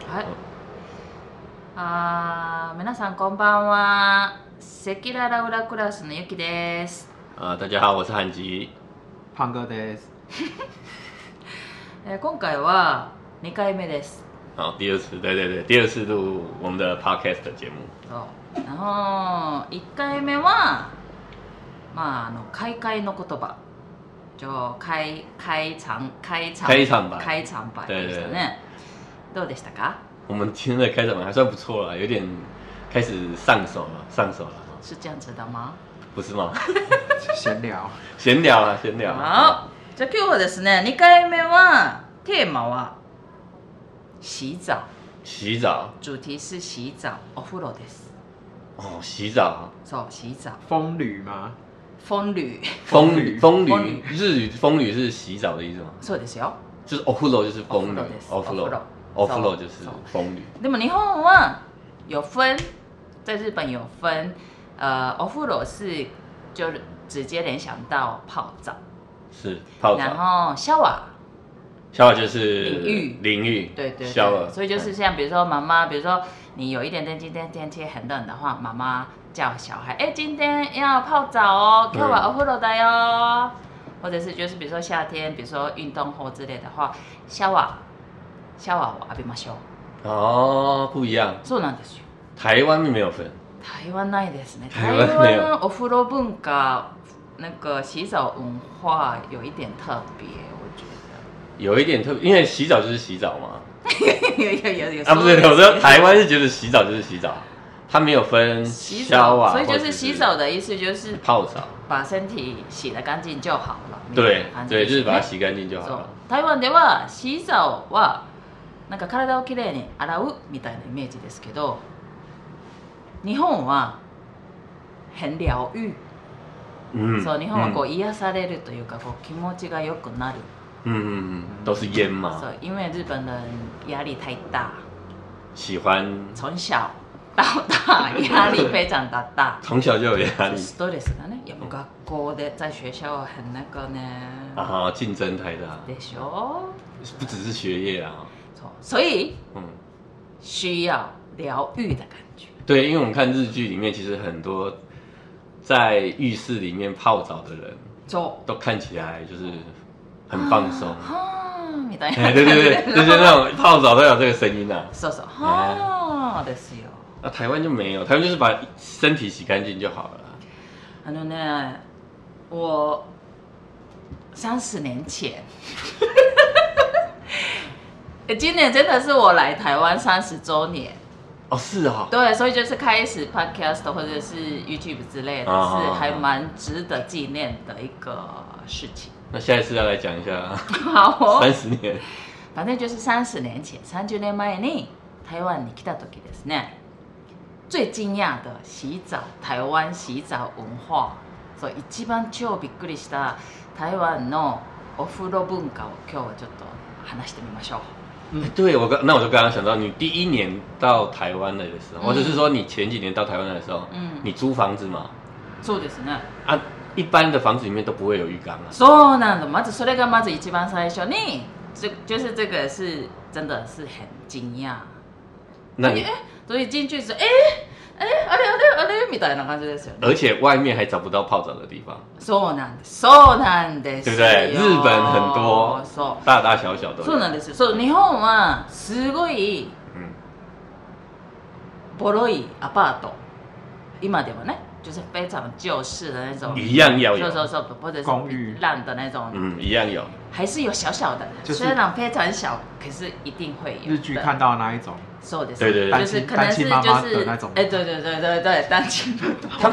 はい。皆さんこんばんは。赤裸々裏クラスのゆきです。 大家好，我是韩吉。 胖哥です。 今回は2回目です。 好，第二次，对，第二次录我们的 podcast 的节目。 そう。然后1回目は開会の言葉。就開場白でしたね。どうでしたか？ 我们今天的开场白还算不错了，有点开始上手了。 是这样子的吗？ 不是吗？ 闲聊。 好。じゃあ今日はですね、2回目はテーマは洗澡。主题是洗澡，お風呂です。 哦，洗澡。 そう、洗澡。 风吕吗？ 风吕，日语风吕是洗澡的意思吗？ そうですよ。 就是お風呂就是风吕，お風呂就是风吕。 でも日本は有分，在日本有分，お風呂是就直接联想到泡澡， 是泡澡。 然后shower 就是淋浴， 对，所以就是像比如说妈妈，比如说你有一点点今天天气很冷的话，妈妈叫小孩，今天要泡澡哦，今日はお風呂だよ。或者是就是比如说夏天，比如说运动后之类的话，シャワーを浴びましょう。 哦，不一样。 そうなんですよ。 台湾没有分。 台湾ないですね。 台湾没有。 お風呂文化，那个洗澡文化有一点特别，我觉得。 有一点特别，因为洗澡就是洗澡嘛。 有。 不是，我说台湾是觉得洗澡就是洗澡。它没有分洗澡，所以就是洗澡的意思就是泡澡， 把身体洗得干净就好了。 对，就是把它洗干净就好了。 台湾では洗澡はなんか体をきれいに洗うみたいなイメージですけど、日本は很療愈。そう、日本はこう癒されるというか、こう気持ちが良くなる。 都是烟嘛。 そう、因为日本人压力太大， 喜欢从小到大压力非常的大， 从小就有压力。 ストレスがね、やっぱ学校で在学校很那个呢。 竞争太大。 でしょ？ 不只是学业啊。 所以需要疗愈的感觉。 对，因为我们看日剧里面，其实很多在浴室里面泡澡的人，都看起来就是很放松。みたいな。对，就是那种泡澡都有这个声音啊。 そうそう。ですよ。 台湾就没有，台湾就是把身体洗干净就好了。 我30年前，今年真的是我来台湾30周年。 哦，是哦。 对，所以就是开始 podcast 或者是 YouTube 之类的，是还蛮值得纪念的一个事情。 那下一次要来讲一下。 好哦。 30年。 反正就是30年前、30年前に台湾に来た時ですね。最惊讶的台湾洗澡文化，そう一番超びっくりした台湾のお風呂文化を今日はちょっと話してみましょう。 对，那我就刚刚想到，你第一年到台湾来的时候，或者是说你前几年到台湾来的时候，你租房子嘛？ そうですね。 一般的房子里面都不会有浴缸啊。 そうなんだ。まずそれがまず一番最初に，就是这个是真的是很惊讶。那你所以进去是あれみたいな感じですよね。 而且外面还找不到泡澡的地方。 そうなんです。 对不对？日本很多，大大小小都有。 そうなんですよ。そう、日本はすごいボロいアパート。今ではね。就是非常旧式的那种， 一样要有， 或者是公寓烂的那种， 一样有， 还是有小小的，虽然非常小，可是一定会有。 日剧看到的那一种， 对， 就是可能是就是那种， 对，单亲妈妈，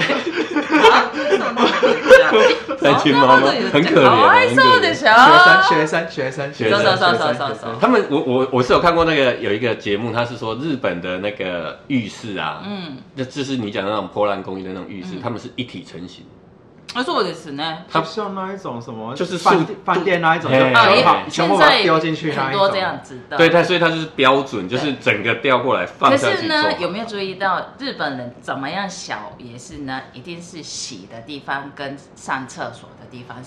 单亲妈妈很可怜， かわいそうでしょ。 学生， 他们我是有看过那个有一个节目，他是说日本的那个浴室啊，就是你讲的那种破烂公寓的那种浴室，他们是一体成型。 そうですね。 它像那一种什么， 就是饭店那一种，全部把它丢进去那一种， 很多这样子的。 对，所以它就是标准，就是整个调过来放下去。 可是呢，有没有注意到日本人怎么样小也是呢？一定是洗的地方跟上厕所的地方是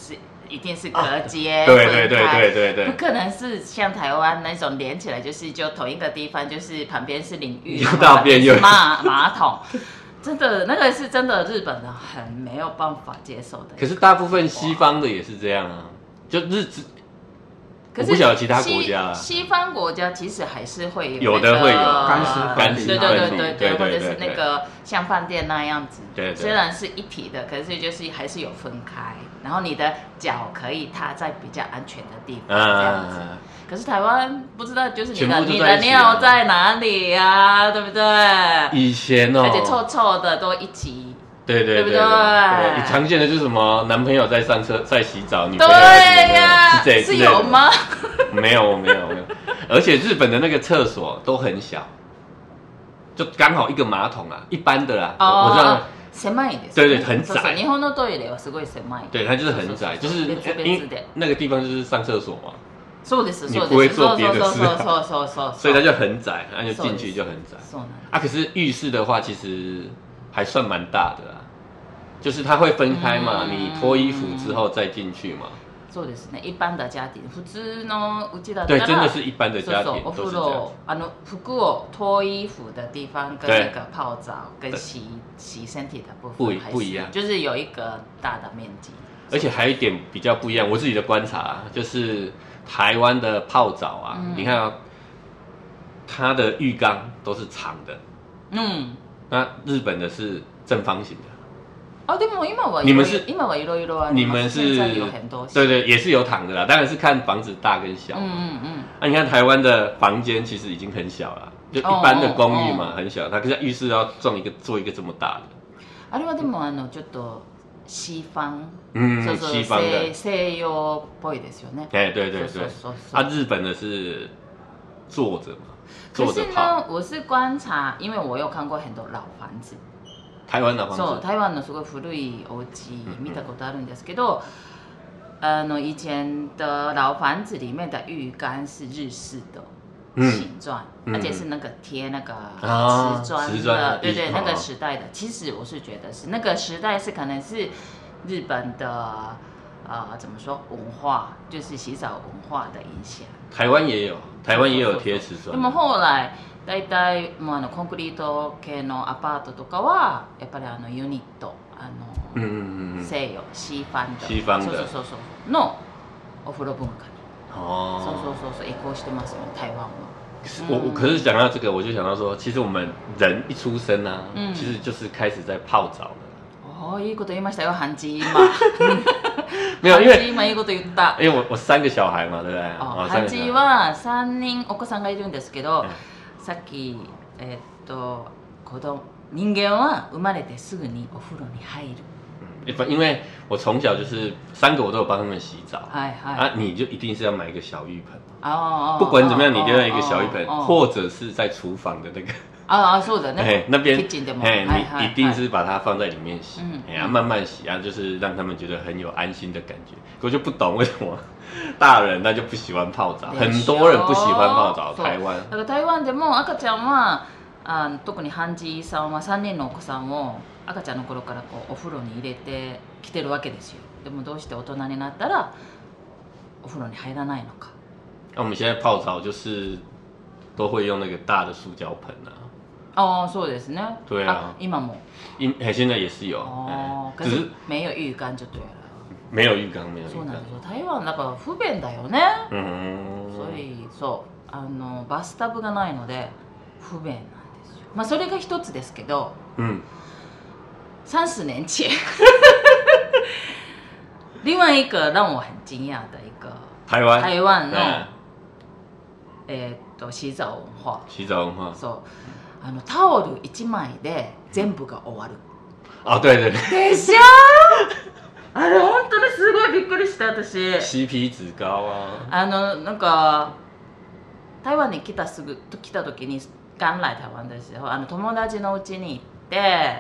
一定是隔间， 对， 不可能是像台湾那种连起来，就同一个地方，就是旁边是淋浴， 旁边是马桶。真的，那个是真的，日本人很没有办法接受的。 可是大部分西方的也是这样啊，就我不晓得其他国家啊。 西方国家其实还是会有的会有干湿分离， 对，或者是那个像饭店那样子， 对， 虽然是一体的，可是就是还是有分开，然后你的脚可以踏在比较安全的地方这样子。可是台湾不知道，就是你的尿在哪里啊，对不对？ 以前哦， 而且臭臭的都一起。 对不对？ 常见的就是什么男朋友在在洗澡，女朋友对呀，是有吗？ 没有，而且日本的那个厕所都很小，就刚好一个马桶啊，一般的啦。我知道。 狭いです。 对，很窄。 日本のトイレはすごい狭い。 对，它就是很窄，就是因为那个地方就是上厕所嘛。 そうです。 你不会做别的事， そう。 所以它就很窄，那就进去就很窄。可是浴室的话，其实还算蛮大的啦，就是它会分开嘛，你脱衣服之后再进去嘛。 そうですね。一般的家庭，普通のうちだったら。 对，真的是一般的家庭都是这样。服を脱衣服的地方跟那个泡澡跟洗身体的部分不一样， 就是有一个大的面积。 而且还有一点比较不一样，我自己的观察就是台湾的泡澡啊，你看啊，它的浴缸都是长的，那日本的是正方形的。 でも今はいろいろあります。 你们是有很多对，也是有躺的啦，当然是看房子大跟小。你看台湾的房间其实已经很小了，就一般的公寓嘛，很小，它可是浴室要做一个这么大的。 あれはでもちょっと西方， 西方的西洋っぽいですよね。 对。日本的是坐着嘛， 可是呢，我是观察，因为我有看过很多老房子。 台湾の房子。 そう、台湾のすごい古いお家見たことあるんですけど、以前的老房子里面的浴缸是日式的形状，而且是那个贴那个瓷砖的，对，那个时代的。其实我是觉得是那个时代是可能是日本的怎么说文化，就是洗澡文化的影响。 台湾也有贴瓷砖。 でも後来だいたいもうコンクリート系のアパートとかはやっぱりユニット西洋西方的そうのお風呂文化にそう移行してますよね台湾は。 可是讲到这个，我就想到说，其实我们人一出生啊，其实就是开始在泡澡了。 いいこと言いましたよ、ハンジ今。 没有，因为今いいこと言った。 因为我3个小孩嘛，对不对？ ハンジは3人お子さんがいるんですけど、さっき人間は生まれてすぐにお風呂に入る。 因为我从小就是3个我都有帮他们洗澡，你就一定是要买一个小浴盆，不管怎么样你就要一个小浴盆，或者是在厨房的那个そうだね。 那边你一定是把它放在里面洗，慢慢洗就是让他们觉得很有安心的感觉。我就不懂为什么大人那就不喜欢泡澡，很多人不喜欢泡澡。台湾だから台湾でも赤ちゃんは特にハンジさんは3人のお子さんを赤ちゃんの頃からお風呂に入れてきてるわけですよ。でもどうして大人になったらお風呂に入らないのか。 我们现在泡澡就是都会用那个大的塑胶盆そうですね。 对啊， 今も。 现在也是有。 可是没有浴缸就对了。 没有浴缸。 そうなんですよ。台湾だから不便だよね。所以バスタブがないので不便なんですよ。まあそれが一つですけど。30年前，另外一个让我很惊讶的一个台湾の洗澡文化。そう。タオル1枚で全部が終わる。 对。 でしょ？あれ本当にすごいびっくりした私。 CP 值高啊。 なんか台湾に来た時に刚来台湾的时候，友達の家に行って。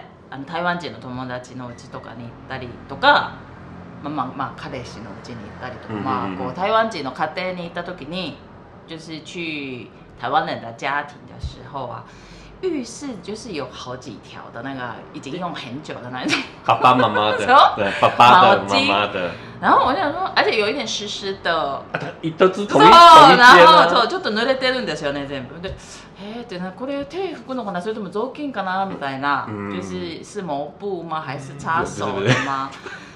台湾人の友達の家とかに行ったりとか、彼氏の家に行ったりとか、台湾人の家庭に行った時に，就是去台湾人的家庭的时候啊， 浴室就是有好几条的那个已经用很久的那种爸爸妈妈的，对，爸爸的、妈妈的。 然后我想说，而且有一点湿湿的， 都是同一間啊。 然後そうちょっと濡れてるんですよね全部で。ってこれ手拭くのかなそれとも雑巾かなみたいな，就是抹布吗还是擦手的吗？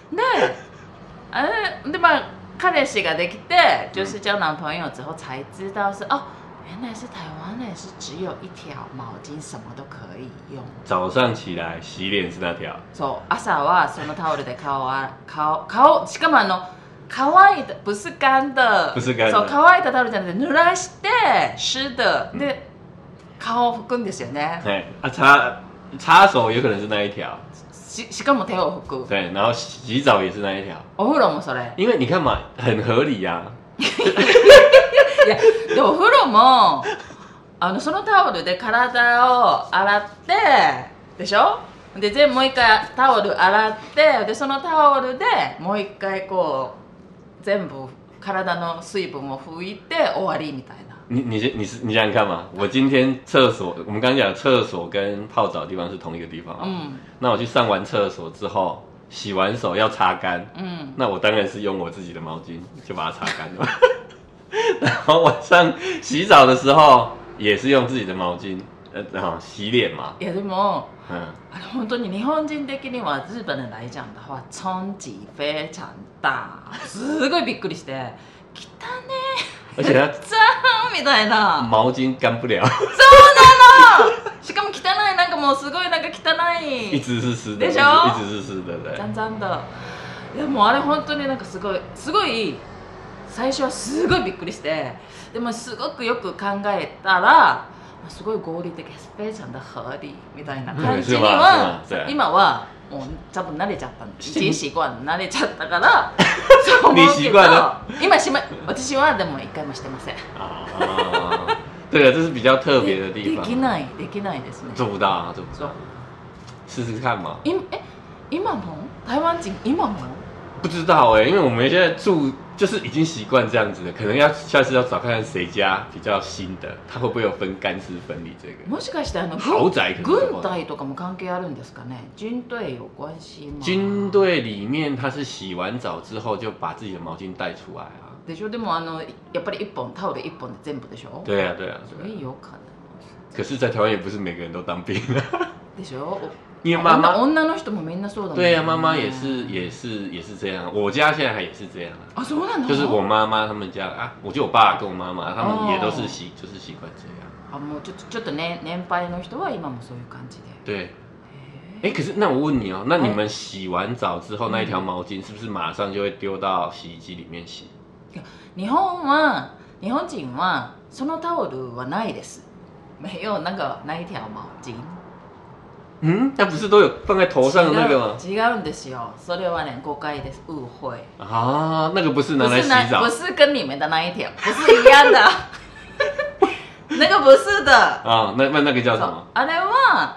でまあ彼氏ができて，就是交男朋友之后才知道是哦。原来是台湾人是只有一条毛巾，什么都可以用。 早上起来洗脸是那条。 そう、朝はそのタオルで顔しかも乾いた不是干的， 不是干的。 そう乾いたタオルじゃなくて濡らして湿的で顔を拭くんですよね。 对啊，擦手有可能是那一条。 しかも手を拭く。 对，然后洗澡也是那一条。 お風呂もそれ。 因为你看嘛，很合理呀。 いやでお風呂もそのタオルで体を洗ってでしょでもう一回タオル洗ってでそのタオルでもう一回こう全部体の水分を拭いて終わりみたいな。 你想想看嘛，我今天厕所，我们刚刚讲厕所跟泡澡的地方是同一个地方，那我去上完厕所之后，洗完手要擦干，那我当然是用我自己的毛巾就把它擦干了。然后晚上洗澡的时候也是用自己的毛巾，然后洗脸嘛。 いやでも、本当に日本人的には日本人来讲的话，冲击非常大，すごいびっくりして、汚ね。 而且它脏みたいな。 毛巾干不了。 そうなの。しかも汚いなんかもうすごいなんか汚い。 一直是湿的。 でしょ？ 一直是湿的，对。 脏脏的。いやもうあれ本当になんかすごい。最初はすごいびっくりしてでもすごくよく考えたらすごい合理的非常的合理みたいな感じには今はもう多分慣れちゃった已经習慣慣れちゃったからそう思うけど今私はでも一回もしてません。 对了，这是比较特别的地方。 できないですね。 做不到啊，做不到。试试看嘛。 今も台湾人今も不知道因为我们现在住就是已经习惯这样子了，可能下次要找看看谁家比较新的，他会不会有分干湿分离这个？ もしかして豪宅軍隊とかも関係あるんですかね？軍隊有关系吗？ 军队里面他是洗完澡之后就把自己的毛巾带出来啊。 でしょ？でもやっぱりタオル一本で全部でしょ？ 对啊。 所以有可能。 可是，在台湾也不是每个人都当兵啊。 でしょ？ 因为妈妈女の人もみんなそうだもんね。 对呀，妈妈也是这样。我家现在也是这样啊。そうなの？ 就是我妈妈他们家啊，我就我爸跟我妈妈，他们也都是习惯这样。 啊，もうちょっと年配の人は今もそういう感じで。对。可是那我问你哦，那你们洗完澡之后那一条毛巾是不是马上就会丢到洗衣机里面洗？ 日本人はそのタオルはないです。没有那一条毛巾。 那不是都有放在头上的那个吗？ 違うんですよ。それはね誤解です。誤会。 啊，那个不是拿来洗澡。 不是跟你们的那一条，不是一样的。那个不是的。 啊，那个叫什么？ あれは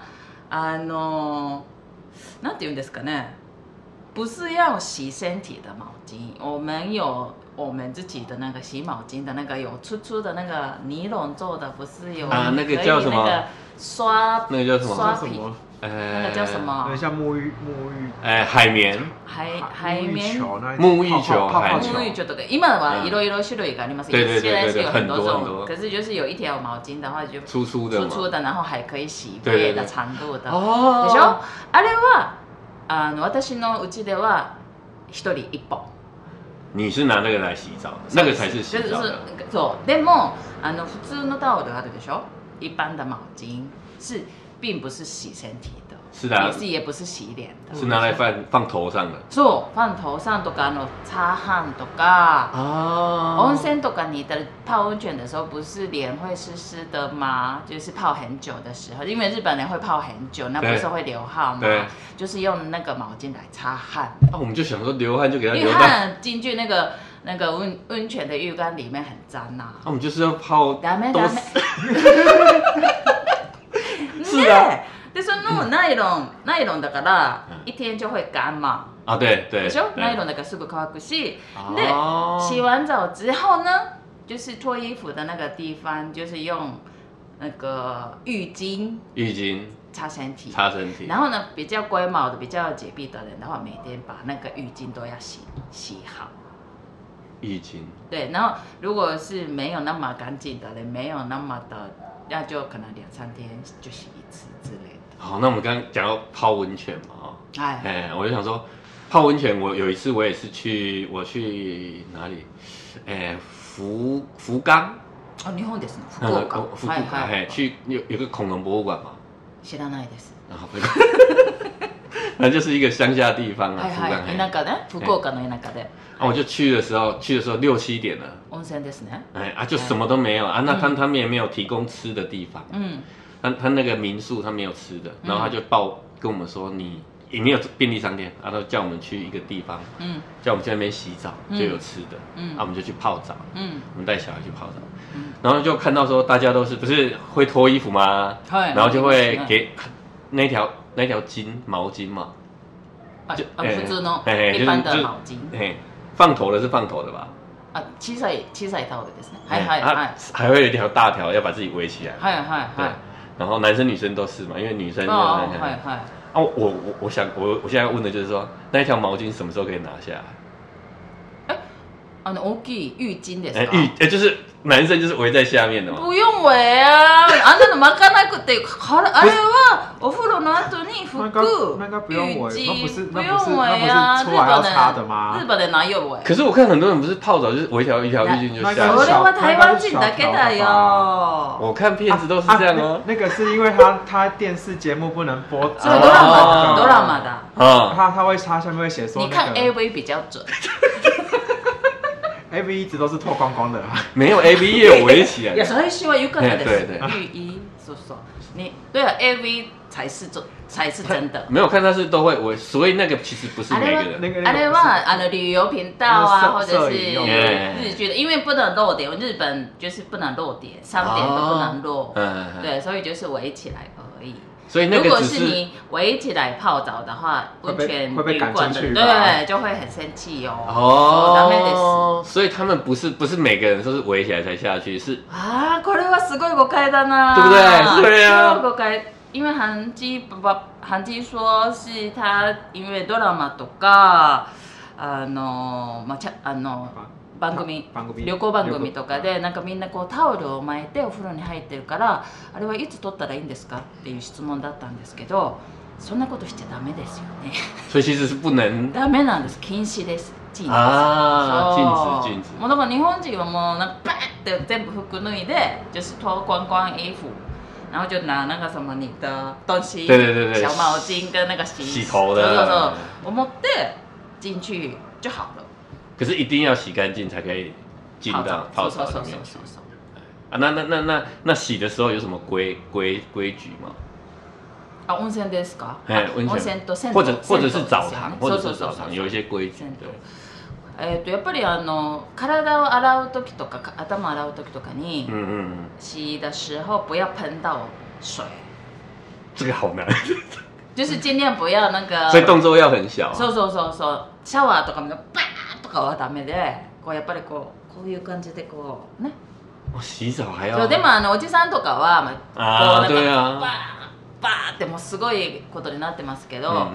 なんて言うんですかね？不是要洗身体的毛巾，我们有我们自己的那个洗毛巾的那个有粗的那个尼龙做的，不是有那个叫什么？ 那个刷那个叫什么？ 刷皮。那个叫什么？ 像沐浴。 海绵。 海绵。 沐浴球。 沐浴球とか今はいろいろ種類があります。 对， 现在是有很多种，可是就是有一条毛巾的话就粗的，然后还可以洗背的长度的。 でしょ？あれは私のうちでは一人一本。 你是拿那个来洗澡的，那个才是洗澡的。 そう。でも普通のタオルあるでしょ？一般的毛巾并不是洗身体的， 是的， 也不是洗脸的， 是拿来放头上的。 そう、放头上とか擦汗とか，温泉とか你的泡温泉的时候，不是脸会湿湿的吗？就是泡很久的时候，因为日本人会泡很久，那不是会流汗吗？就是用那个毛巾来擦汗。 我们就想说流汗就给它流汗进去那个温泉的浴缸里面很脏呐。 我们就是要泡。 ダメ。 是啊。 でそのナイロンだから一天就会干嘛？ 啊，对。 でしょ？ナイロンだからすぐ乾くし，で洗完澡之后呢，就是脱衣服的那个地方，就是用那个浴巾擦身体，然后呢，比较龟毛的、比较洁癖的人的话，每天把那个浴巾都要洗好。 浴巾。 对，然后如果是没有那么干净的人，没有那么的，那就可能2-3天就洗一次之类的。 好，那我们刚刚讲到泡温泉嘛，我就想说，泡温泉，我有一次我也是去哪里？福冈。 日本ですね。福岡。 去有个恐龙博物馆嘛。 知らないです。 那就是一个乡下地方啊，福冈。 田舎で、福岡の田舎で。 我就去的时候6-7点了。 温泉ですね。 就什么都没有啊，那他们也没有提供吃的地方。他那个民宿他没有吃的，然后他就跟我们说你也没有便利商店，然后叫我们去一个地方，叫我们去那边洗澡就有吃的，我们就去泡澡，我们带小孩去泡澡，然后就看到说大家都是不是会脱衣服吗？然后就会给那条毛巾嘛， 普通の一般的毛巾， 放头的是放头的吧？ 小さいタオルですね。 还会有一条大条要把自己围起来。 对。 然后男生女生都是嘛，因为女生就我想我现在问的就是说，那一条毛巾什么时候可以拿下来？ 大きい浴巾ですか？ 就是男生就是围在下面的嘛。 不用围啊，あんなの巻かなくて、あれはお風呂の後に服、浴巾不用围啊。 出来要擦的吗？ 日本人哪有围？ 可是我看很多人不是泡澡就是围一条浴巾就下来。 それは台湾人だけだよ。 我看片子都是这样哦。 那个是因为他电视节目不能播。 ドラマ的。 他会下面会写说。 你看 AV 比较准。 AV 一直都是脱光光的， 没有 AV 也有围起来。 いや最初は浴衣です。浴衣，你对啊 AV 才是真的。 没有看他是都会围，所以那个其实不是每个人。 あれは旅游频道啊，或者是日剧的，因为不能露点，日本就是不能露点，3点都不能露。对，所以就是围起来而已。 所以那个如果是你围起来泡澡的话，温泉旅馆的对就会很生气哦。 所以他们不是每个人都是围起来才下去，是これはすごい誤解だな， 对不对？对啊， 誤解。因为韩基说是他因为ドラマとか旅行番組とかでなんかみんなこうタオルを巻いてお風呂に入ってるからあれはいつ取ったらいいんですかっていう質問だったんですけど、そんなことしちゃダメですよね。 所以其实是不能。 ダメなんです。禁止です。禁止。 禁止。 もうだから日本人はもうなんかバーって全部服脱いで就是脱光光衣服。然后就拿那个什么你的东西，小毛巾跟那个洗头的， 我持って进去就好了。 可是一定要洗干净才可以进到泡澡里面。那洗的时候有什么规矩吗？ 温泉ですか？ 温泉と銭湯或者是澡堂，有一些规矩。 やっぱり体を洗う時とか頭洗う時とかに洗的时候不要喷到水。 这个好难。 就是尽量不要那个。 所以动作要很小。 そう。シャワーとかもバーとかはダメで、こうやっぱりこういう感じでこうね。 洗澡还要。 そうでもおじさんとかは对啊。 バーってもうすごいことになってますけど、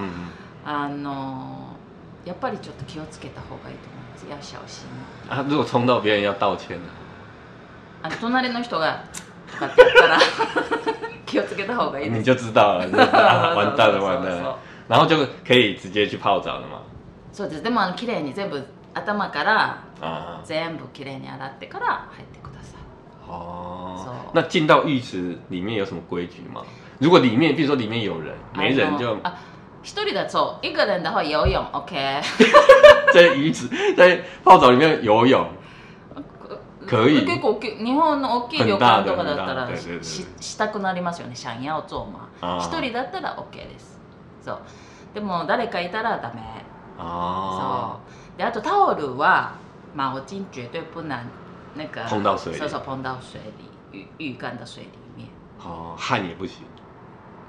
やっぱりちょっと気をつけた方がいいと思います。要小心。 如果冲到别人要道歉呢？ 隣の人がとかってやったら気をつけた方がいいです。 你就知道了，完蛋了。然后就可以直接去泡澡了嘛。 そうです。でも綺麗に全部頭から全部綺麗に洗ってから入ってください。 那进到浴池里面有什么规矩吗？如果里面，比如说里面有人，没人就。 一人だと一个人的话游泳 OK 在浴池在泡澡里面游泳可以。 結構日本の大きい旅館とかだったらしたくなりますよね。想要做嘛。一人だったら OK です。そう。でも誰かいたらダメ。そう。であとタオルは毛巾绝对不能那个碰到水里。 碰到水里浴缸的水里面。 汗也不行。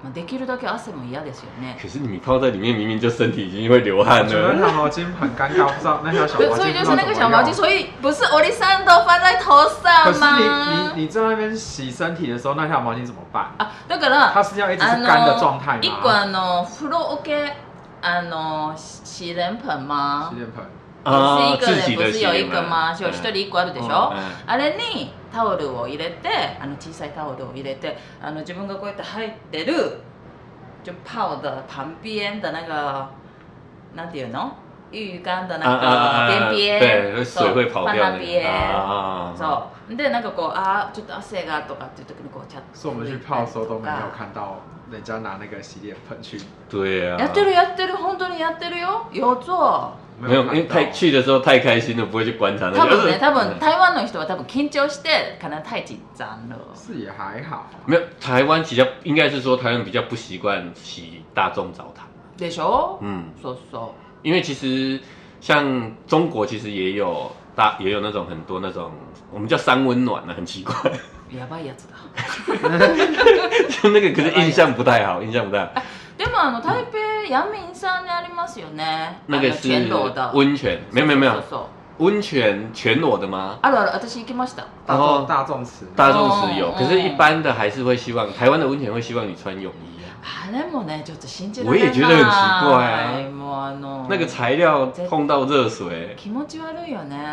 できるだけ汗も嫌ですよね。 可是你泡在里面，明明就身体已经会流汗了。我觉得那条毛巾很尴尬，不知道那条小毛巾。 所以就是那个小毛巾，所以不是欧丽桑都放在头上吗？ 可是你在那边洗身体的时候，那条毛巾怎么办啊？ だから它是要一直是干的状态吗？ 一個風呂桶洗脸盆吗？ 洗脸盆。 是一个人不是有一个吗？就一人一個あるでしょ。あれにタオルを入れて、小さいタオルを入れて、自分がこうやって入ってる就泡的旁边的那个，なんていうの？浴缸的那个边边， 对，水会跑掉那边。そうでなんかこうちょっと汗がとかっていう時にこうちゃっと。 所以我们去泡的时候都没有看到人家拿那个洗脸盆去。 对啊。 やってる本当にやってるよ。有做。 没有，因为去的时候太开心了，不会去观察。 多分台湾の人は多分緊張して可能太緊張了。 是也还好。 没有，台湾比较应该是说台湾比较不习惯洗大众澡堂。 でしょ？そう。 因为其实像中国其实也有那种很多那种我们叫三温暖很奇怪。 やばいやつだ。 就那个可是印象不太好。 でも台北陽明山にありますよね。 那个是温泉，没有。温泉全裸的吗？ ある。私行きました。 大众池有，可是一般的还是会希望台湾的温泉会希望你穿泳衣啊。 あれもねちょっと信じられない。 我也觉得很奇怪啊。那个材料碰到热水， 気持ち悪いよね。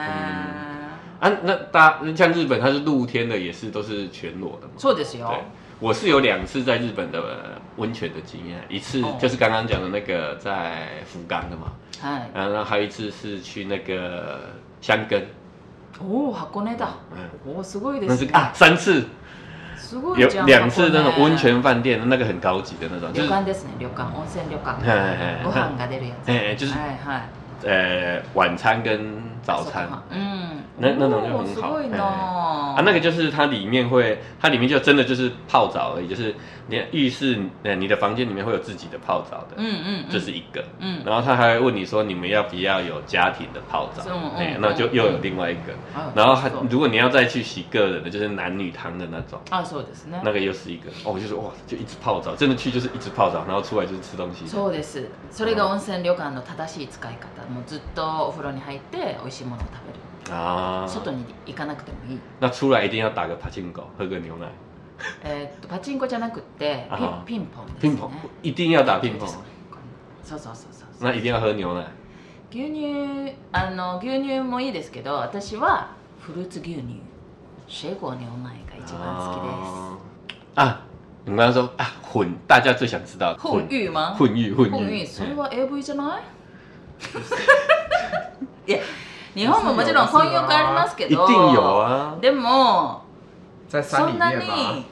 那像日本它是露天的，也是都是全裸的嘛。 そうですよ。 我是有2次在日本的温泉的经验，一次就是刚刚讲的那个在福冈的嘛，然后还有一次是去那个箱根。 箱根だ。すごいです。 那是3次。有2次那种温泉饭店，那个很高级的那种。 旅館ですね，温泉旅館。ご飯が出るやつ。 就是晚餐跟早餐。那种就很好。那个就是它里面就真的就是泡澡而已，就是你浴室你的房间里面会有自己的泡澡的。这是一个。然后他还会问你说你们要不要有家庭的泡澡？那就又有另外一个。然后如果你要再去洗个人的，就是男女汤的那种。 そうですね。 那个又是一个。就是哇，就一直泡澡，真的去就是一直泡澡，然后出来就是吃东西。 そうです。それが温泉旅館の正しい使い方。もうずっとお風呂に入って美味しいものを食べる。外に行かなくてもいい。 那出来一定要打个パチンコ，喝个牛奶。 パチンコじゃなくてピンポンですね。 ピンポン一定要打ピンポン。 そう。 那一定要喝牛奶。 牛乳もいいですけど、私はフルーツ牛乳、水果牛奶が一番好きです。 你刚刚说大家最想知道混浴吗？ 混浴， それは AV じゃない？いや。日本ももちろん混浴ありますけど、 一定有啊。 でもそんなに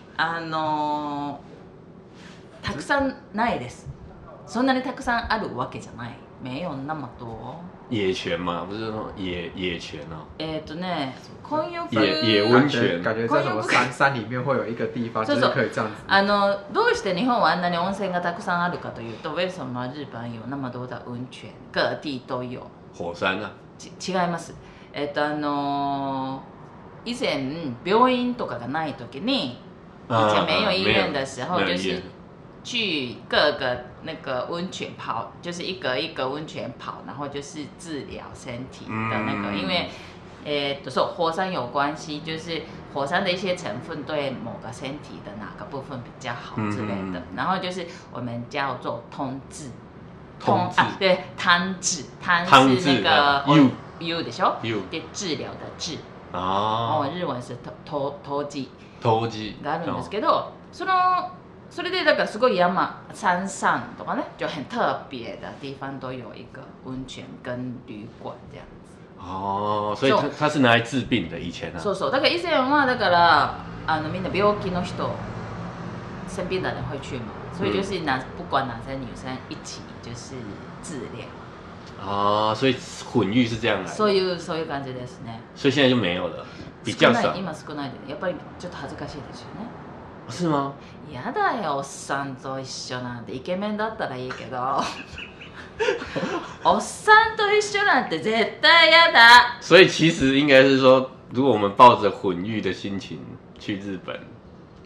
たくさんないです。そんなにたくさんあるわけじゃない。没有那么多。 野泉嘛，不是那种野泉哦。 混浴野温泉， 感觉在什么山里面会有一个地方，就是可以这样子。 どうして日本はあんなに温泉がたくさんあるかというと、为什么日本有那么多的温泉？各地都有。 火山啊。 違います。以前病院とかがない時に，以前没有医院的时候，就是去各个那个温泉泡，就是一个一个温泉泡，然后就是治疗身体的那个，因为火山有关系，就是火山的一些成分对某个身体的哪个部分比较好之类的，然后就是我们叫做通治。对，汤治，汤是那个 U でしょ？で治療的治。日文是湯治があるんですけど、それでだからすごい山上とかね，就很特别的地方都有一个温泉跟旅馆这样子。 所以它是拿来治病的以前啊。 そう。だから以前はだからみんな病気の人、生病的人会去嘛。所以就是不管男生女生一起就是治疗。 所以混浴是这样来的。 そういう感じですね。 所以现在就没有了，比较少。 今少ないで、やっぱりちょっと恥ずかしいですよね。 是吗？ やだよ、おっさんと一緒なんて。イケメンだったらいいけど。おっさんと一緒なんて絶対やだ。 所以其实应该是说，如果我们抱着混浴的心情去日本。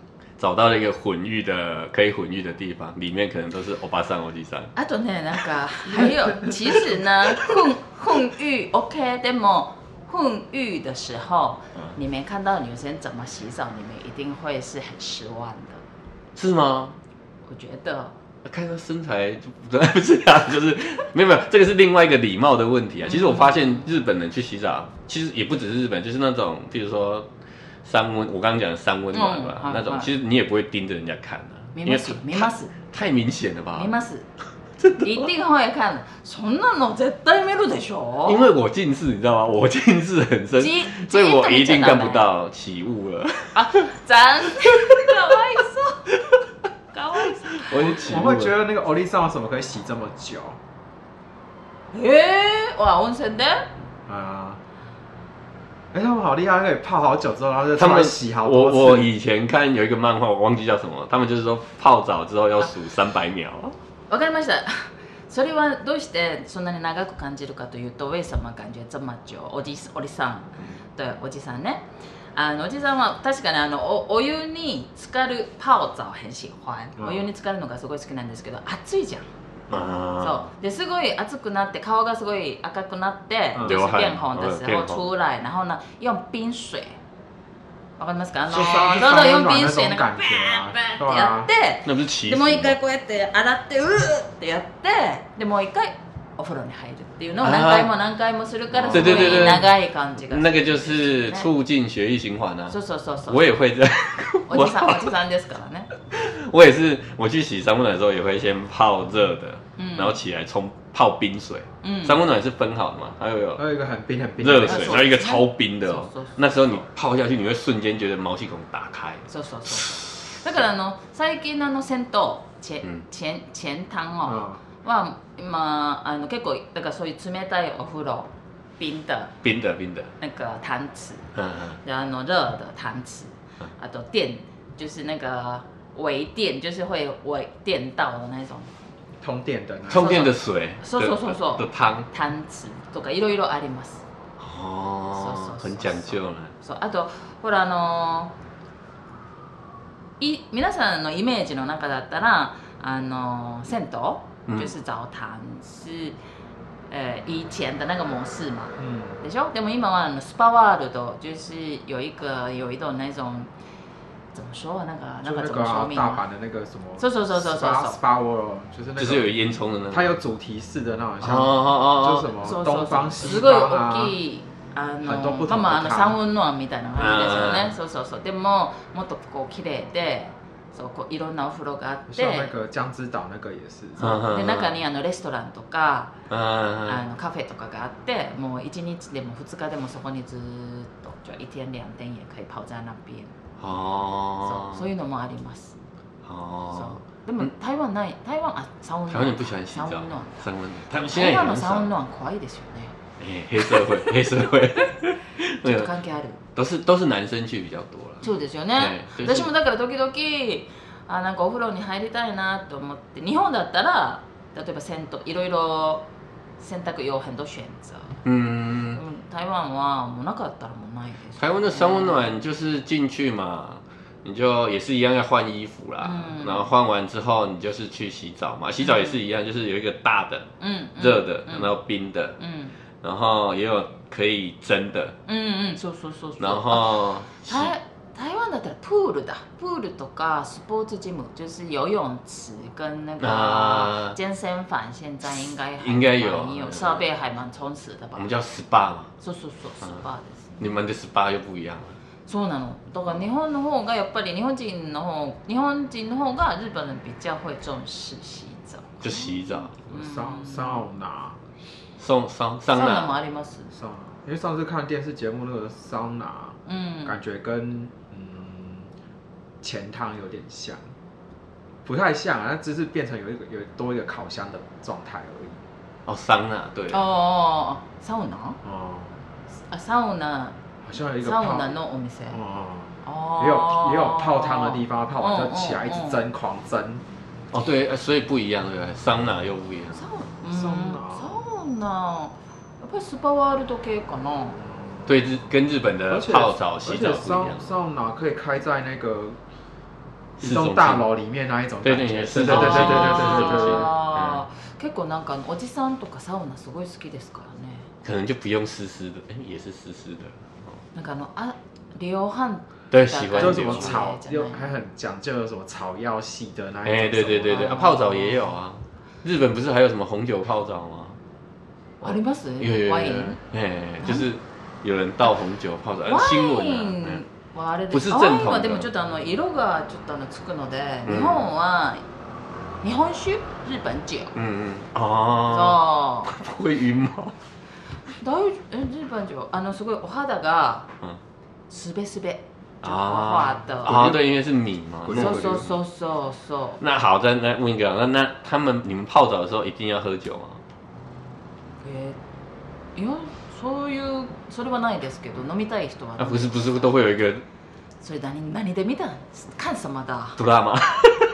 找到了一个可以混浴的地方，里面可能都是欧巴桑、欧吉桑。 あとね、なんか还有，其实呢，混浴 OK， でも混浴的时候，你没看到女生怎么洗澡，你们一定会是很失望的。 是吗？ 我觉得。 看他身材就不是啊，就是没有，这个是另外一个礼貌的问题啊。其实我发现日本人去洗澡，其实也不只是日本，就是那种，比如说我刚刚讲的三温暖吧，那种，其实你也不会盯着人家看啊，因为太明显了吧？ 見ます。一定会看的。そんなの絶対見るでしょ。 因为我近视，你知道吗？我近视很深，所以我一定看不到起雾了。 啊，残念，かわいそう。 我会觉得那个欧丽桑什么可以洗这么久？ 哇，温泉的？ 他们好厉害，可以泡好久之后，然后他们洗好多次。 我以前看有一个漫画，我忘记叫什么，他们就是说泡澡之后要数300秒。 わかりました。それはどうしてそんなに長く感じるかというと、为什么感觉这么久？おじさん、对，おじさんね。おじさんは確かにお湯に浸かる泡澡很喜欢。お湯に浸かるのがすごい好きなんですけど、暑いじゃん。そうですごい熱くなって顔がすごい赤くなって就是变红的时候出来，然后呢用冰水。わかりますか？そう用冰水なんかバーってやって、でもう一回こうやって洗ってってやって、でもう一回お風呂に入るっていうのを何回もするからすごい長い感じが。 那个就是促进血液循环啊。 そうそうそうそう。 我也会这样。 おじさんですからね。 我也是，我去洗三温暖的时候也会先泡热的，然后起来泡冰水。三温暖是分好的嘛，还有一个很冰热水，然后一个超冰的哦。那时候你泡下去，你会瞬间觉得毛细孔打开。 そうそうそう。だから最近の銭湯前汤哦。は今結構だからそういう冷たいお風呂冰的那个汤池，然后热的汤池，啊，都电就是那个微电，就是会电到的那种通电的水， そう的汤池とかいろいろあります。 哦，很讲究呢。 そう、あとほら皆さんのイメージの中だったら銭湯就是澡堂是以前的那个模式嘛，でしょ？でも今はスパワールド就是有一种那种怎么说那个怎么说明？ 大阪的那个什么？ そう Spa World 就是有烟囱的那种， 它有主题式的那种，像就什么东方西方啊，很多不同的汤。 三温暖みたいな感じですよね。そう。でももっとこう綺麗で。そういろんなお風呂があって、 像那个江之島那个也是。 で中にレストランとかカフェとかがあって、もう1日でも2日でもそこにずっと就1天2天也可以泡在那边。そういうのもあります。でも台湾ない台湾三温暖。 台湾人不喜欢洗澡。三温暖。 台湾の三温暖怖いですよね。 黑社会。 ちょっと関係ある。 都是男生去比较多了。 そうですよね。私もだから時々なんかお風呂に入りたいなと思って、日本だったら例えば銭湯いろいろ選択有很多选择。台湾はもうなかったらもうないです。 台湾的三温暖就是进去嘛，你就也是一样要换衣服啦，然后换完之后你就是去洗澡嘛，洗澡也是一样，就是有一个大的，热的，然后冰的，然后也有可以蒸的， そう。 然后台湾だったらプールとかスポーツジム，就是游泳池跟那个健身房，现在应该有设备还蛮充实的吧？ 我们叫 SPA 嘛。 そうSPAです。 你们的 SPA 又不一样了。 そうなの。だから日本の方がやっぱり日本人の方が日本人比较会重视洗澡。 就洗澡。 桑拿。 桑拿もあります。 因为上次看电视节目那个桑拿，感觉跟前汤有点像，不太像啊，它只是变成有多一个烤箱的状态而已。 哦，桑拿对。 サウナ？サウナ。 好像有一个サウナのお店。 也有泡汤的地方，泡完就起来一直蒸，狂蒸。 哦，对，所以不一样，对不对？桑拿又不一样。 サウナ。やっぱりスパワールド系かな。 对，跟日本的泡澡、洗澡不一样。 桑拿可以开在那个一栋大楼里面那一种感觉。 对， 是。 結構なんかおじさんとかサウナすごい好きですからね。 可能就不用湿湿的，也是湿湿的。 なんか流汗。 对，喜欢就是什么草，又还很讲究有什么草药系的那一种。 对，泡澡也有啊。日本不是还有什么红酒泡澡吗？ あります？ 有。就是有人倒紅酒泡澡。新聞はあれ不是正統。ワインはでもちょっと色がちょっとつくので、日本は日本酒、日本酒。 そう。会晕吗？ 日本酒すごいお肌がすべすべ。画的对，因为是米嘛。 そう。 那好，再来问一个，那你们泡澡的时候一定要喝酒吗？ いや、それはないですけど、飲みたい人は。 不是都会有一个。 それ何で見た？看什么的？ ドラマ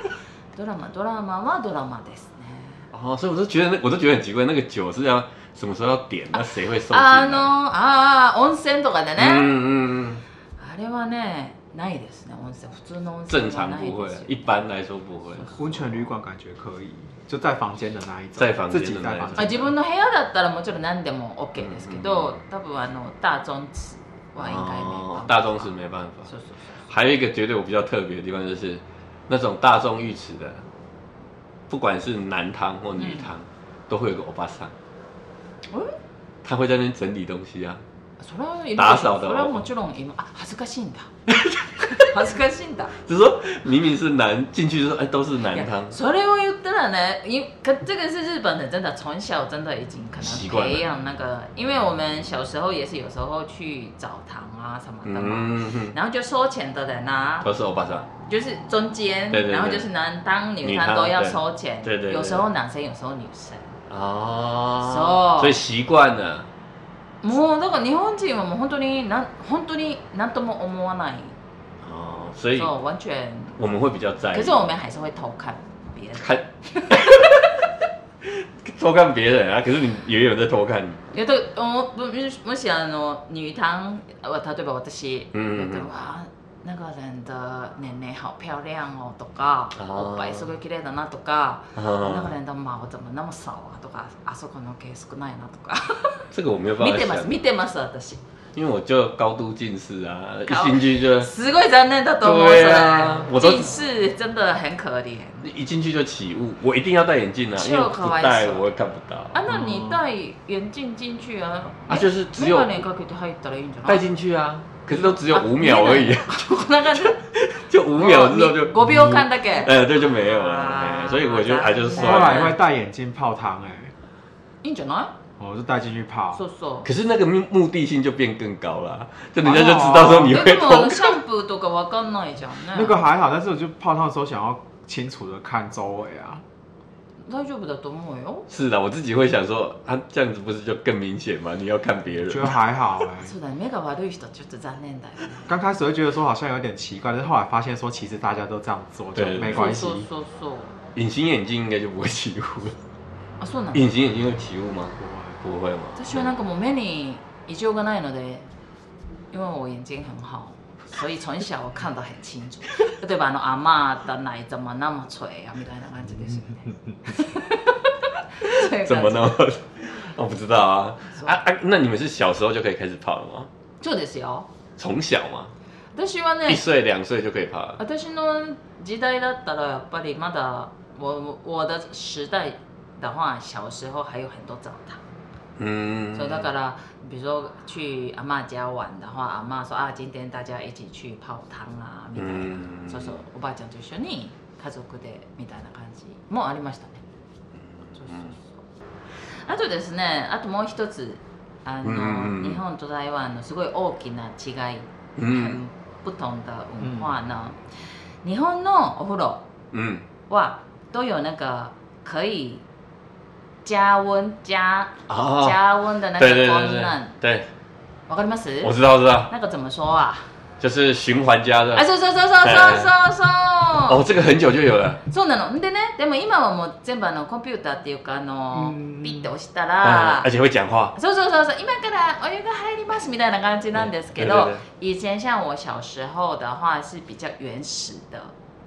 はドラマですね。 所以我都觉得很奇怪，那个酒是要什么时候要点？那谁会送进来？ 温泉とかでね。あれはね、ないですね。温泉普通の温泉正常不会，一般来说不会。 温泉旅馆感觉可以，就在房間的那一種。 在房間的那一種。 自分の部屋だったらもちろん何でも OK ですけど、多分大众池は應該没辦法。 大众池没办法。还有一个绝对我比较特别的地方就是，那种大众浴池的，不管是男汤或女汤，都会有个欧巴桑。他会在那边整理东西啊。打扫的。 それはもちろん恥ずかしいんだ。恥ずかしいんだ。 就是说明明是男进去就说都是男汤。 それを言ったら呢，这个是日本的，真的从小真的已经可能培养那个，因为我们小时候也是有时候去澡堂啊什么的嘛，然后就收钱的人啊， 都是欧巴桑， 就是中间，然后就是男汤女汤都要收钱， 对， 有时候男生有时候女生。 所以習慣了。 もうだから日本人はもう本当に何とも思わない。 所以完全我们会比较在意。 可是我们还是会偷看别人。 偷看别人啊？可是你也有在偷看。 もし女湯例えば私長人的年々好漂亮哦とか、おっぱいすごい綺麗だなとか、長人的毛怎么那么少啊とか、あそこの毛少ないなとか。 这个我没有办法想。 見てます私。 因为我就高度近视啊，一进去就。 すごい残念だと思う。 对啊，我都近视真的很可怜。 一进去就起雾，我一定要戴眼镜啊，因为不戴我会看不到。 那你戴眼镜进去啊？ 就是只有。 眼鏡かけて入ったらいいんじゃない？ 戴进去啊。可是都只有5秒而已，就5秒之后就 5秒間だけ， 对，就没有了，所以我就就是算了。 后来会戴眼镜泡汤， いいんじゃない？ 我就带进去泡。 可是那个目的性就变更高了，就人家就知道说你会偷。 シャンプーとかわかんないじゃんね。 那个还好，但是我就泡汤的时候想要清楚的看周围啊。 大丈夫だと思うよ。 是的，我自己会想说，这样子不是就更明显吗？你要看别人。 觉得还好そうだね、目が悪い人ちょっと残念だよね。 刚开始会觉得说好像有点奇怪，但是后来发现说其实大家都这样做，就没关系。 そう。 隐形眼镜应该就不会起雾了。 そうなの？ 隐形眼镜会起雾吗？不会吗？ 私はなんかもう目に異常がないので、因为我眼睛很好。所以从小我看得很清楚，例えば阿嬷的奶怎么那么垂啊，みたいな感じですよね。 怎么那么？我不知道啊。那你们是小时候就可以开始泡了吗？ そうですよ。 从小吗？ 私はね、 1岁2岁就可以泡了。 私の時代だったらやっぱりまだ我的时代的话，小时候还有很多澡堂。所以だから比如说去阿嬷家玩的话，阿嬷说今天大家一起去泡汤啊みたいな。そうそう、おばあちゃんと一緒に家族でみたいな感じもありましたね。そう。あとですね、あともう一つ日本と台湾のすごい大きな違い、不同的文化呢。日本のお風呂は都有那个可以。加温的那个功能， 对， わかります？ 我知道。 那个怎么说啊？ 就是循环加热。 そう。 这个很久就有了。 そうなの。でね、でも今はもう全部コンピューターっていうかピッて押したら、 而且会讲话。 そう。今からお湯が入りますみたいな感じなんですけど、以前像我小时候的话是比较原始的。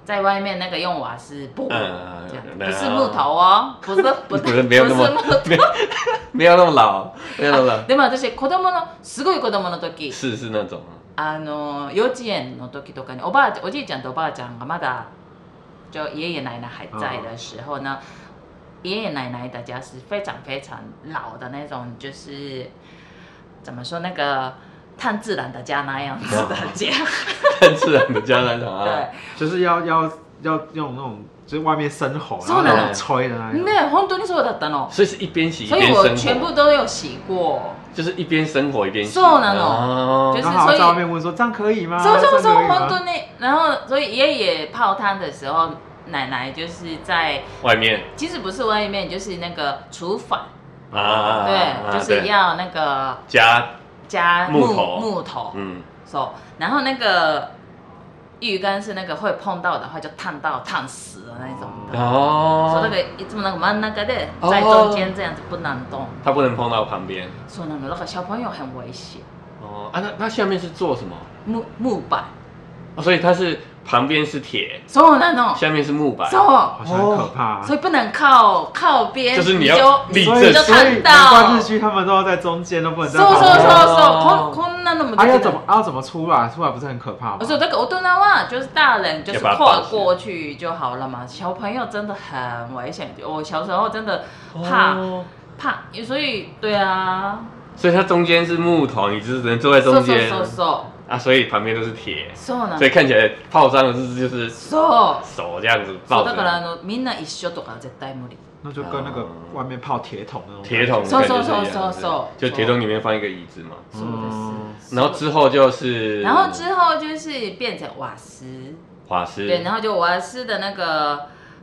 在外面那个用瓦斯布，这样不是木头哦，不是没有那么没有那么老，没有那么老。 でも私子供のすごい子供の時、 是那种。 幼稚園の時とかにおじいちゃんとおばあちゃんがまだ就爷爷奶奶还在的时候呢，爷爷奶奶的家是非常非常老的那种，就是怎么说那个炭自然的家那样子的家， 炭自然的家那种啊， 对， 就是要用那种。就是外面生火，然后那种吹的那种。 ね、本当にそうだったの。 所以是一边洗一边生火。 所以我全部都有洗过。 就是一边生火一边洗。 そうなの。就是所以在外面问说这样可以吗？ そう本当に。然后所以爷爷泡汤的时候，奶奶就是在外面。 其实不是外面，就是那个厨房。 对， 就是要那个加木头。そう。然后那个。浴缸是那个会碰到的话就烫死的那种的哦，所以那个いつも那个真ん中で在中间这样子不能动， 它不能碰到旁边。 そうなの，那个小朋友很危险。 哦啊，那下面是做什么？ 木板。 所以它是旁边是铁， そうなの， 下面是木板， 好像很可怕。 所以不能靠边， 就是你要立正， 你就看到。 难怪日剧他们都要在中间，都不能在旁边。 そうこんなのも。 要怎么出来？出来不是很可怕吗？ 所以那个大人は就是大人就是跨过去就好了嘛，小朋友真的很危险。我小时候真的怕，所以对啊。 所以它中间是木头，你只能坐在中间。啊，所以旁边都是铁，所以看起来泡伤的就是手这样子抱着。 だからみんな一緒とか絶対無理。 那就跟那个外面泡铁桶那种。 铁桶的感觉是一样的，就铁桶里面放一个椅子嘛。然后之后就是， 就是变成瓦斯。对，然后就瓦斯的那个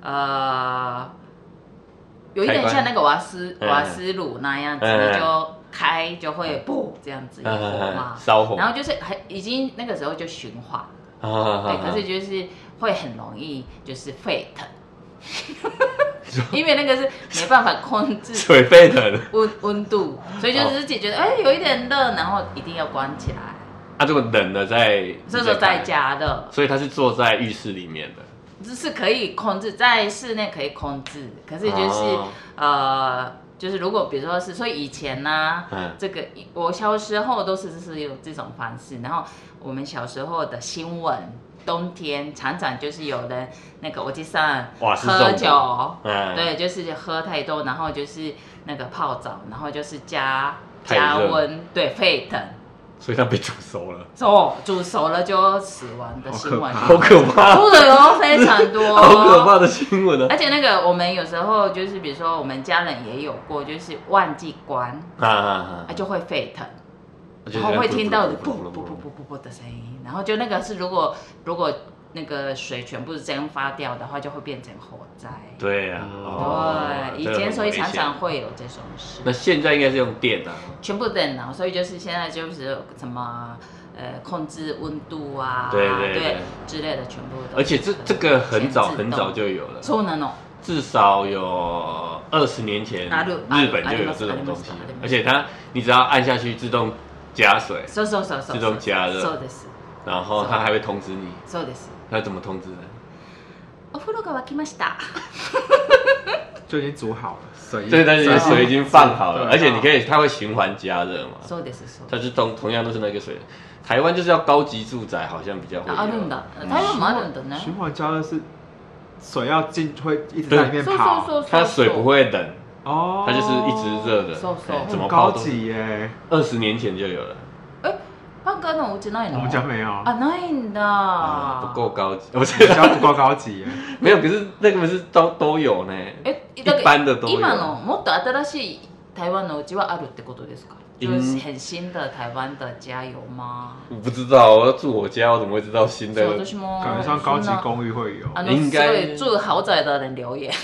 有一点像那个瓦斯炉那样子，你就。开就会不这样子有火嘛， 烧火， 然后就是已经那个时候就循环，对，可是就是会很容易就是沸腾，因为那个是没办法控制水沸腾温度，所以就是自己觉得有一点热，然后一定要关起来。 啊，这个冷的这时候在加热， 所以它是坐在浴室里面的， 就是可以控制在室内可以控制，可是就是就是如果比如说是，所以以前呢，这个我小时候都是有这种方式，然后我们小时候的新闻，冬天常常就是有人那个我记上喝酒，对，就是喝太多，然后就是那个泡澡，然后就是加温，对，沸腾。 所以它被煮熟了， 煮熟了就死亡的新闻， 好可怕， 出的有非常多， 好可怕的新闻啊！ 而且那个我们有时候就是比如说我们家人也有过，就是忘记关就会沸腾，然后会听到啵的声音，然后就那个是如果那个水全部蒸发掉的话，就会变成火灾。 对啊， 对，以前所以常常会有这种事。 那现在应该是用电啊， 全部电脑，所以就是现在就是什么控制温度啊， 对之类的全部都。 而且这个很早就有了， そうなの。 至少有20年前，日本就有这种东西，而且你只要按下去自动加水，自动加热，然后它还会通知你。 そうです。 它怎么通知的？ お風呂が沸きました。 就已经煮好了，水对，但是水已经放好了，而且它会循环加热嘛。 そうです。 它是同样都是那个水。台湾就是要高级住宅，好像比较会有。 あるんだ。台湾もあるんだね。 循环加热是水要会一直在里面跑， 它水不会冷哦，它就是一直热的。 怎么高级耶 ？20年前就有了。 パンカのお家ないの？ 我们家没有啊，ないんだ。 不够高级， 我们家不够高级耶。 没有，可是那个是都有呢。一般的都有。 今のもっと新しい台湾のお家はあるってことですか？就是很新的台湾的家有吗？ 我不知道，我要住我家，我怎么会知道新的？ 感觉像高级公寓会有。 应该住豪宅的人留言。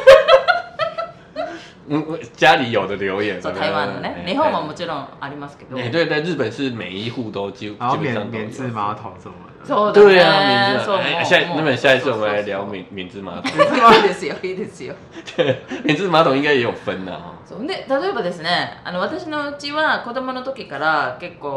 家里有的留言。 台湾的ね、日本ももちろんありますけど。 对，在日本是每一户都基本上都有免治马桶什么的。 对啊，免治。下一次我们来聊免治马桶。 いいですよ、いいですよ。 对，免治馬桶应该也有分的。 そうで、例えばですね、私のうちは子供の時から結構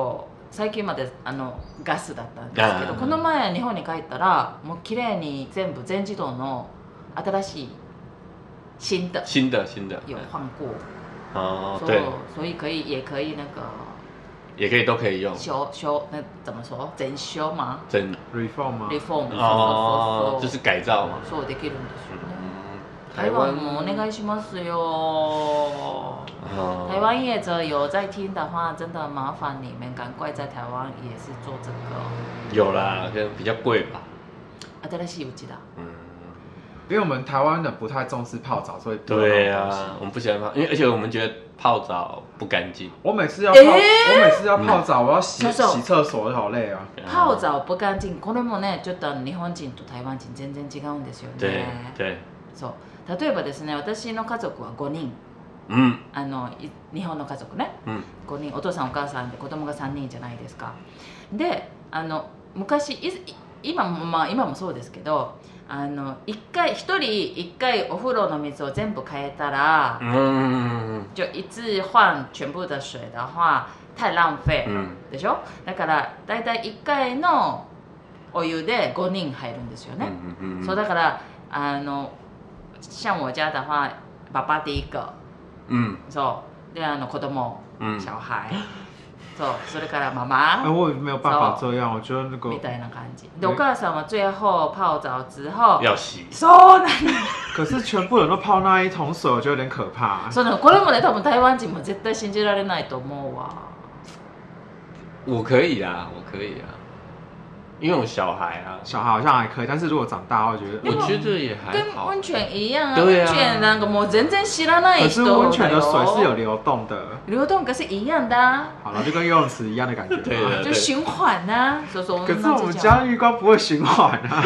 最近までガスだったんですけど、この前日本に帰ったらもう綺麗に全部全自動の新しい新的有换过哦，对，所以也可以那个。 也可以都可以用那怎么说整修吗？ 整 reform 吗 ？reform 哦，就是改造嘛。 そうできるんですよね。台湾もお願いしますよ。台湾业者有在听的话，真的麻烦你们赶快在台湾也是做这个。 有啦，可能比较贵吧。 新しいうちだ。 因为我们台湾人不太重视泡澡，所以对啊，我们不喜欢泡，因为而且我们觉得泡澡不干净。 我每次要泡澡，我要洗厕所，好累啊。 泡澡不干净、これもね、ちょっと日本人と台湾人全然違うんですよね。 对。 そう。例えばですね、私の家族は5人。日本の家族ね。5人、お父さんお母さんで子供が3人じゃないですか。で、昔今もそうですけど。一人一回お風呂の水を全部変えたら，就一次换全部的水的话太浪费でしょ。だからだいたい1回のお湯で5人入るんですよね。そうだから像我家的话，爸爸第一个，そうで子供小孩。それから妈妈。 我也没有办法这样，我觉得那个。 みたいな感じ。でお母さんは最後泡澡之後要洗。 そうなんだ。 可是全部人都泡那一桶水，我觉得有点可怕。 そうなの。これもね、多分台湾人も絶対信じられないと思うわ。 我可以啊，因为我小孩好像还可以，但是如果长大，我觉得也还好。 跟温泉一样啊， 对啊， 温泉なんかもう全然知らない人。 可是温泉的水是有流动的， 流动可是一样的啊。 好了，就跟游泳池一样的感觉。 对， 就循环啊。可是我们家浴缸不会循环啊。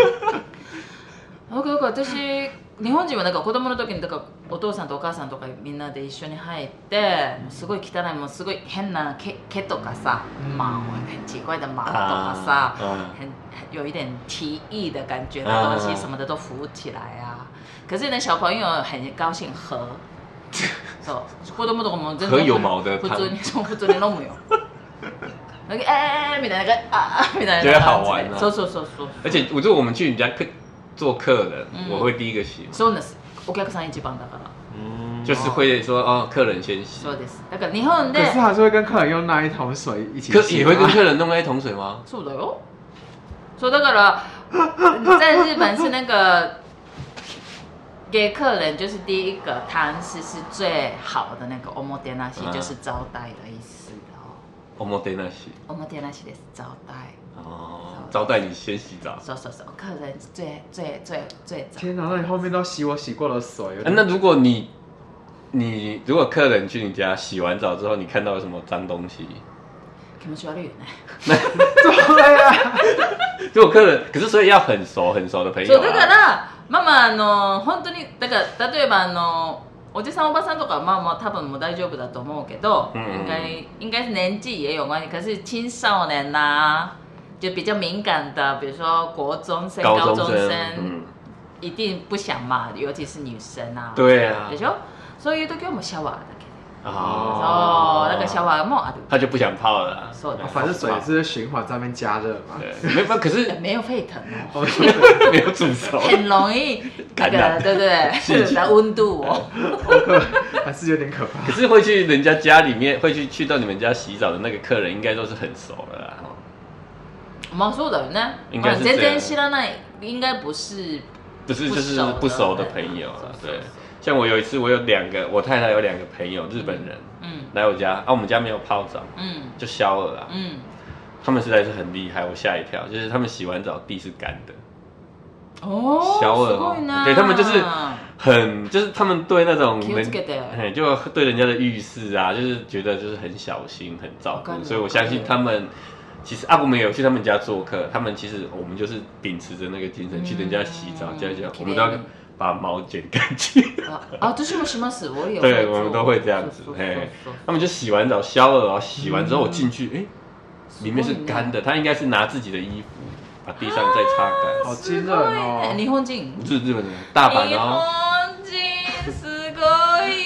私日本人は子供の時にお父さんとお母さんとかみんなで一緒に入ってすごい汚いもうすごい変な毛とかさ、很奇怪的毛とかさ，有一点奇异的感觉的东西什么的都浮起来啊。可是呢，小朋友很高兴喝，そう子供とかも全然喝有毛的普通に飲むよ。那个みたいなみたいな， 觉得好玩啊。 そう。 而且我觉得我们去人家做客人，我会第一个洗。 そうです。お客さん一番だから。 就是会说客人先洗。 そうです。だから日本で。 可是还是会跟客人用那一桶水一起洗。 也会跟客人弄那一桶水吗？ そうだよ。そうだから在日本是那个给客人就是第一个汤是最好的那个おもてなし，就是招待的意思哦。 おもてなし。 おもてなしです招待。 招待你先洗澡。 そう，客人最早。 天哪，那你后面都洗我洗过的水。 那如果如果客人去你家洗完澡之后，你看到有什么脏东西？ 気持ち悪いよね。 对啊。 如果客人，可是所以要很熟的朋友。 そうだから本当にだから例えばおじさんおばさんとか多分もう大丈夫だと思うけど，应该是年纪也有关系。可是青少年啊。就比较敏感的，比如说国中生、高中生，一定不想嘛，尤其是女生啊。 对啊。 でしょ？そういう時はもうシャワーだけで。そう、だからシャワーもある。 他就不想泡了。 そう的。 反正水是循环在那边加热嘛。 对，可是没有沸腾哦， 没有煮熟， 很容易感染，对不对？那温度哦， 还是有点可怕。 可是会去人家家里面，会去到你们家洗澡的那个客人，应该都是很熟的啦。 そうだよね。全然知らない，应该不是就是不熟的朋友啊。对，像我有一次，我太太有2个朋友，日本人，来我家我们家没有泡澡，就消了啦，他们实在是很厉害，我吓一跳，就是他们洗完澡地是干的。消了哦，对他们就是他们对那种就对人家的浴室啊，就是觉得就是很小心很照顾，所以我相信他们。其实我们有去他们家做客，他们其实我们就是秉持着那个精神去人家洗澡，我们都要把毛剪干净。 私もします，我也对，我们都会这样子。他们就洗完澡消了，然后洗完之后我进去，里面是干的，他应该是拿自己的衣服把地上再擦干。 好惊人哦！ 日本人？ 不是日本人，大阪哦。 日本人すごい。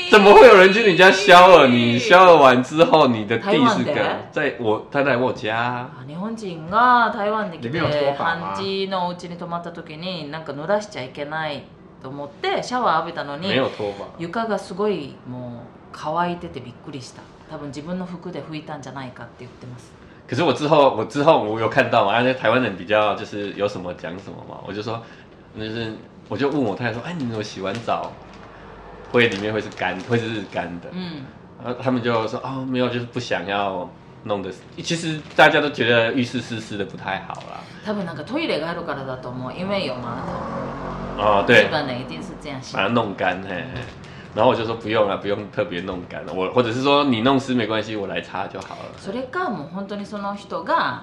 怎么会有人去你家肖尔？你肖尔完之後，你的地是在他来我家。 日本人が台湾に来て半地のお家に泊まった時になんか濡らしちゃいけないと思ってシャワー浴びたのに床がすごいもう乾いててびっくりした。多分自分の服で拭いたんじゃないかって言ってます。 可是我之后我有看到嘛，那台湾人比较就是有什么讲什么嘛，我就说就是我就问我太太说，哎，你怎么洗完澡里面会是干的？然后他们就说哦没有，就是不想要弄的。其实大家都觉得浴室湿湿的不太好啦。 多分なんかトイレがあるからだと思う，因为有马桶。 哦，对。 日本人一定是这样洗。 把它弄干，嘿。然后我就说不用了，不用特别弄干了，或者是说你弄湿没关系，我来擦就好了。 それかもう本当にその人が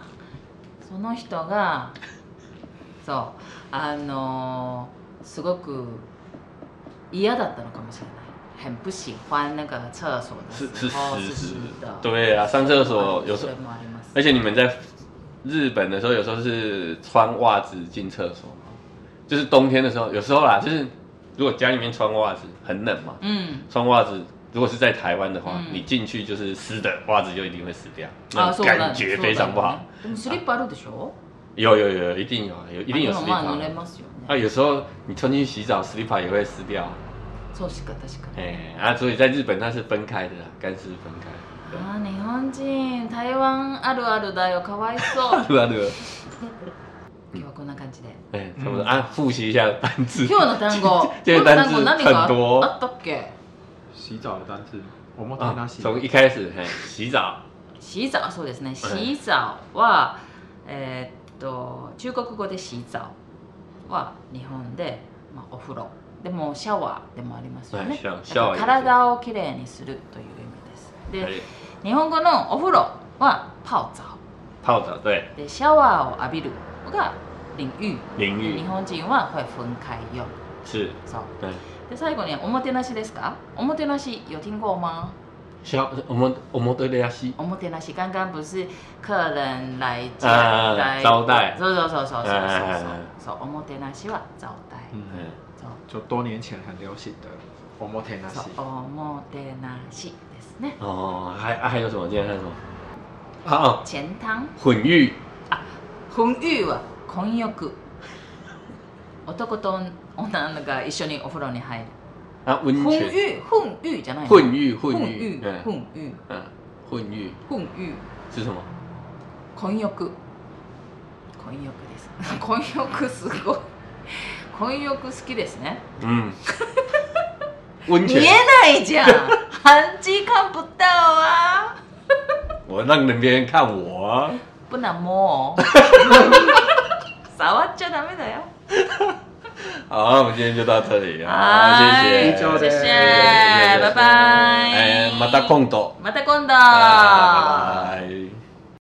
そうすごく嫌だったのかもしれない。很不喜欢那个厕所的时候是湿的。 对啊，上厕所有时候，而且你们在日本的时候，有时候是穿袜子进厕所嘛，就是冬天的时候，有时候啦，就是如果家里面穿袜子很冷嘛，穿袜子如果是在台湾的话，你进去就是湿的，袜子就一定会湿掉，那感觉非常不好。 スリッパあるでしょ？ 有，一定有スリッパ。有时候你穿进去洗澡，スリッパ也会湿掉。 そうしか確かに。所以在日本它是分开的啦，干湿分开。 日本人台湾あるあるだよ、かわいそう。 あるある。 今日はこんな感じで。 差不多复习一下单字。 今日の単語。 今日的单字很多。 あったっけ？ 洗澡的单字。 从一開始洗澡。 洗澡そうですね。洗澡は中国語で洗澡は日本でお風呂。でもシャワーでもありますよね。体をきれいにするという意味です。で、日本語のお風呂は泡澡。 泡澡对。 で、シャワーを浴びるが淋浴。 淋浴。 日本人は会分開用。 是。 そう。で、最後におもてなしですか？おもてなし有听过吗？ おもてなし。 おもてなし，刚刚不是客人来家招待。 そう。おもてなしは招待。 就多年前很流行的おもてなし。 おもてなしですね。 还有什么？今天还有什么？ 钱汤。 混浴。 混浴は混浴。男と女が一緒にお風呂に入る。 温泉。 混浴じゃない。 混浴。混浴是什么？ 混浴です。混浴すごい。混浴好きですね。 温泉。 見えないじゃん。韩剧看不到啊。 我让别人看我啊。 不能摸哦。触っちゃダメだよ。 好，我们今天就到这里啊，谢谢，拜拜。 また今度。 また今度。 拜拜。